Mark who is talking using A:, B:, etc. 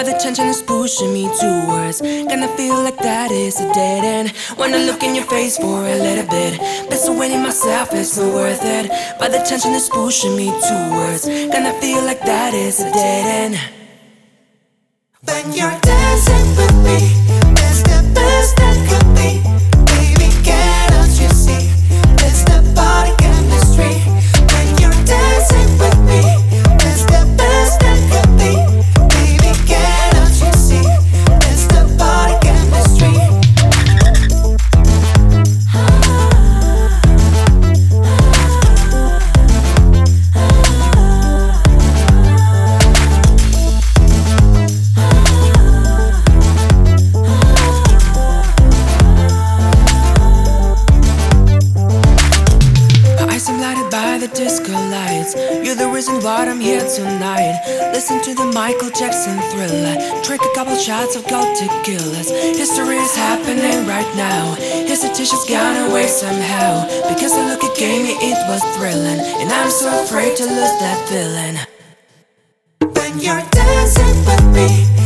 A: the tension is pushing me towards. Gonna feel like that is a dead end. Wanna look in your face for a little bit. Persuading myself it's not worth it. But the tension is pushing me towards. Gonna feel like that is a dead end. When you're dancing with me, it's the best that could be. Baby, can't you see? It's the body chemistry. When you're dancing with me, it's the best that could be. Baby, can't you see? It's the body chemistry. I'm lighted by the disco lights. You're the reason why I'm here tonight. Listen to the Michael Jackson Thriller. Drink a couple shots of gold tequilas. History is happening right now. Hesitation's gone away somehow. Because the look it gave me, it was thrilling. And I'm so afraid to lose that feeling. When you're dancing with me,